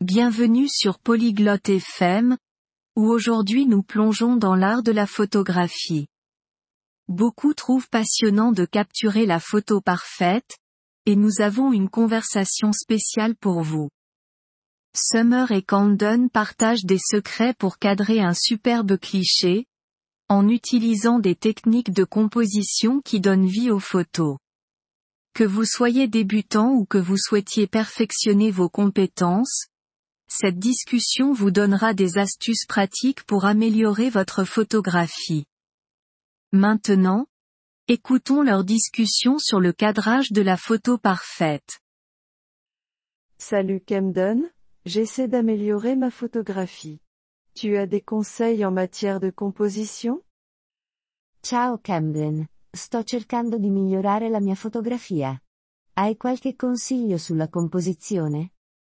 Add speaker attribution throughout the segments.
Speaker 1: Bienvenue sur Polyglotte FM, où aujourd'hui nous plongeons dans l'art de la photographie. Beaucoup trouvent passionnant de capturer la photo parfaite, et nous avons une conversation spéciale pour vous. Summer et Camden partagent des secrets pour cadrer un superbe cliché, en utilisant des techniques de composition qui donnent vie aux photos. Que vous soyez débutant ou que vous souhaitiez perfectionner vos compétences, cette discussion vous donnera des astuces pratiques pour améliorer votre photographie. Maintenant, écoutons leur discussion sur le cadrage de la photo parfaite.
Speaker 2: Salut Camden, j'essaie d'améliorer ma photographie. Tu as des conseils en matière de composition?
Speaker 3: Ciao Camden, sto cercando di migliorare la mia fotografia. Hai qualche consiglio sulla composizione?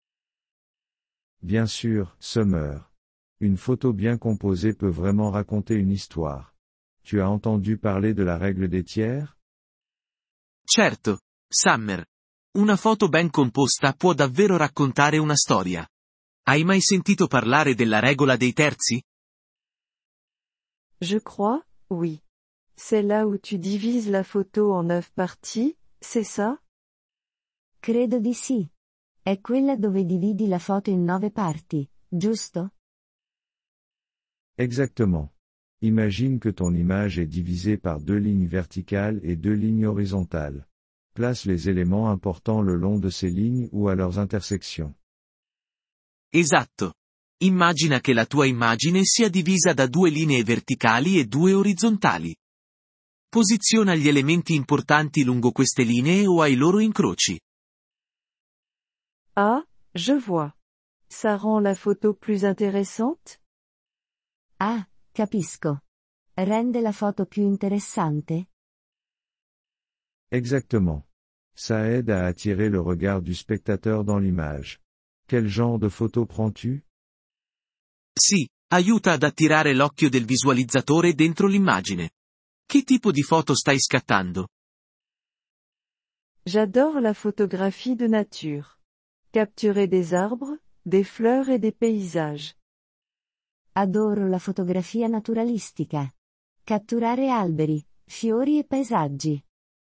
Speaker 4: Bien sûr, Summer. Une photo bien composée peut vraiment raconter une histoire. Tu as entendu parler de la règle des tiers?
Speaker 5: Certo, Summer. Una foto ben composta può davvero raccontare una storia. Hai mai sentito parlare della regola dei terzi?
Speaker 2: Je crois, oui. C'est là où tu divises la photo en 9 parties, c'est ça?
Speaker 3: Credo di sì. È quella dove dividi la foto in 9 parti, giusto?
Speaker 4: Exactement. Imagine que ton image est divisée par 2 lignes verticales et 2 lignes horizontales. Place les éléments importants le long de ces lignes ou à leurs intersections.
Speaker 5: Esatto. Immagina che la tua immagine sia divisa da 2 linee verticali e 2 orizzontali. Posiziona gli elementi importanti lungo queste linee o ai loro incroci.
Speaker 2: Ah, je vois. Ça rend la photo plus intéressante?
Speaker 3: Ah, capisco. Rende la foto più interessante?
Speaker 4: Exactement. Ça aide à attirer le regard du spectateur dans l'image. Quel genre de photo prends-tu?
Speaker 5: Sì, aiuta ad attirare l'occhio del visualizzatore dentro l'immagine. Che tipo di foto stai scattando?
Speaker 2: J'adore la photographie de nature. Capturer des arbres, des fleurs et des paysages.
Speaker 3: Adoro la fotografia naturalistica. Catturare alberi, fiori e paesaggi.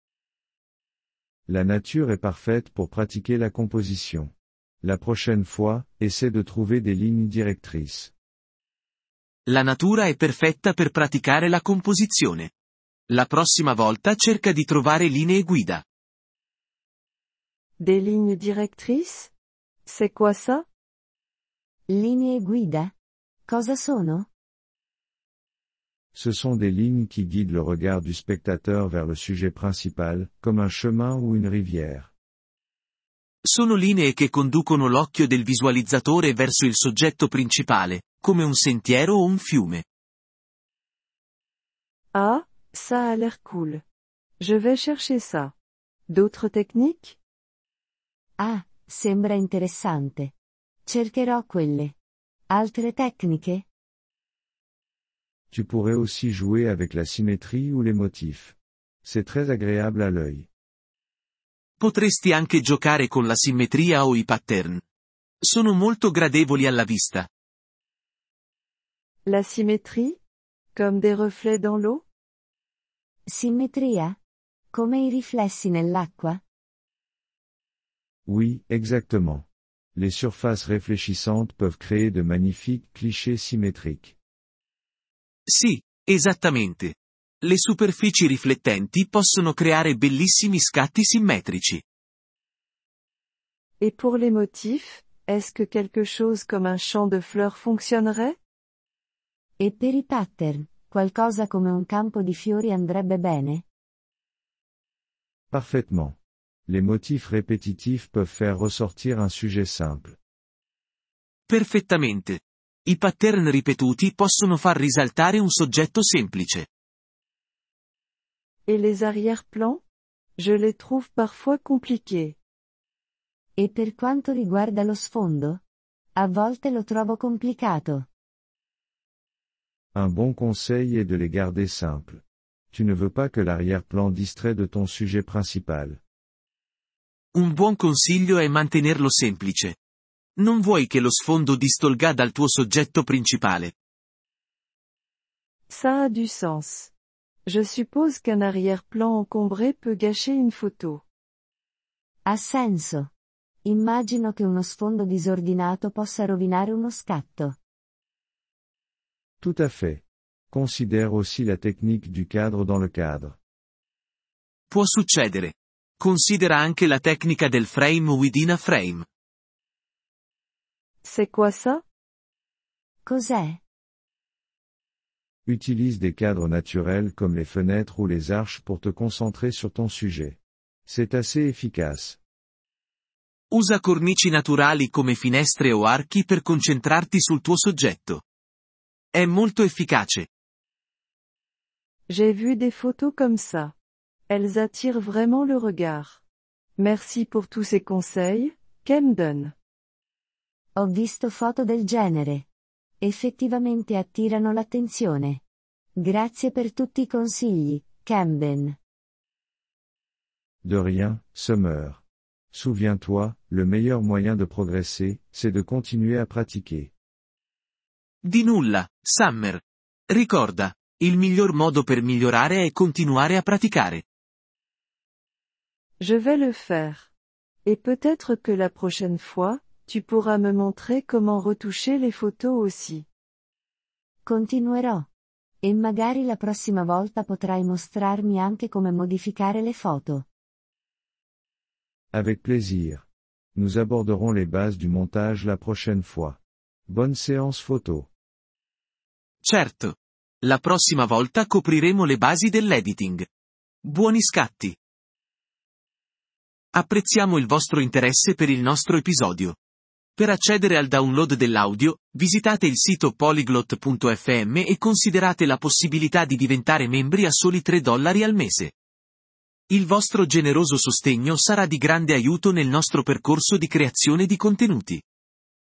Speaker 4: La nature est parfaite pour pratiquer la composition. La prochaine fois, essaie de trouver des lignes directrices.
Speaker 5: La natura è perfetta per praticare la composizione. La prossima volta cerca di trovare linee guida.
Speaker 2: Des lignes directrices? C'est quoi ça?
Speaker 3: Linee guida? Cosa sono?
Speaker 4: Ce sont des lignes qui guident le regard du spectateur vers le sujet principal, comme un chemin ou une rivière.
Speaker 5: Sono linee che conducono l'occhio del visualizzatore verso il soggetto principale, come un sentiero o un fiume.
Speaker 2: Ah, ça a l'air cool. Je vais chercher ça. D'autres techniques?
Speaker 3: Ah, sembra interessante. Cercherò quelle. Altre tecniche?
Speaker 4: Tu pourrais aussi jouer avec la symétrie ou les motifs. C'est très agréable à l'œil.
Speaker 5: Potresti anche giocare con la simmetria o i pattern. Sono molto gradevoli alla vista.
Speaker 2: La symétrie? Comme des reflets dans l'eau?
Speaker 3: Simmetria? Come i riflessi nell'acqua?
Speaker 4: Oui, exactement. Les surfaces réfléchissantes peuvent créer de magnifiques clichés symétriques.
Speaker 5: Sì, esattamente. Le superfici riflettenti possono creare bellissimi scatti simmetrici.
Speaker 2: Et pour les motifs, est-ce que quelque chose comme un champ de fleurs fonctionnerait?
Speaker 3: E per i pattern, qualcosa come un campo di fiori andrebbe bene?
Speaker 4: Parfaitement. Les motifs répétitifs peuvent faire ressortir un sujet simple.
Speaker 5: Perfettamente. I pattern ripetuti possono far risaltare un soggetto semplice.
Speaker 2: Et les arrière-plans? Je les trouve parfois compliqués.
Speaker 3: E per quanto riguarda lo sfondo? A volte lo trovo complicato.
Speaker 4: Un bon conseil est de les garder simples. Tu ne veux pas que l'arrière-plan distrait de ton sujet principal.
Speaker 5: Un buon consiglio è mantenerlo semplice. Non vuoi che lo sfondo distolga dal tuo soggetto principale.
Speaker 2: Ça a du sens. Je suppose qu'un arrière-plan encombré peut gâcher une photo.
Speaker 3: Ha senso. Immagino che uno sfondo disordinato possa rovinare uno scatto.
Speaker 4: Tout à fait. Considère aussi la technique du cadre dans le cadre.
Speaker 5: Può succedere. Considera anche la tecnica del frame within a frame.
Speaker 2: C'est quoi ça?
Speaker 3: Cos'è?
Speaker 4: Utilise des cadres naturels comme les fenêtres ou les arches pour te concentrer sur ton sujet. C'est assez efficace.
Speaker 5: Usa cornici naturali come finestre o archi per concentrarti sul tuo soggetto. È molto efficace.
Speaker 2: J'ai vu des photos comme ça. Elles attirent vraiment le regard. Merci pour tous ces conseils, Camden.
Speaker 3: Ho visto foto del genere. Effettivamente attirano l'attenzione. Grazie per tutti i consigli, Camden.
Speaker 4: De rien, Summer. Souviens-toi, le meilleur moyen de progresser, c'est de continuer à pratiquer.
Speaker 5: Di nulla, Summer. Ricorda, il miglior modo per migliorare è continuare a praticare.
Speaker 2: Je vais le faire. Et peut-être que la prochaine fois, tu pourras me montrer comment retoucher les photos aussi.
Speaker 3: Continuerò. E magari la prossima volta potrai mostrarmi anche come modificare le foto.
Speaker 4: Avec plaisir. Nous aborderons les bases du montage la prochaine fois. Bonne séance photo.
Speaker 5: Certo. La prossima volta copriremo le basi dell'editing. Buoni scatti. Apprezziamo il vostro interesse per il nostro episodio. Per accedere al download dell'audio, visitate il sito polyglot.fm e considerate la possibilità di diventare membri a soli $3 al mese. Il vostro generoso sostegno sarà di grande aiuto nel nostro percorso di creazione di contenuti.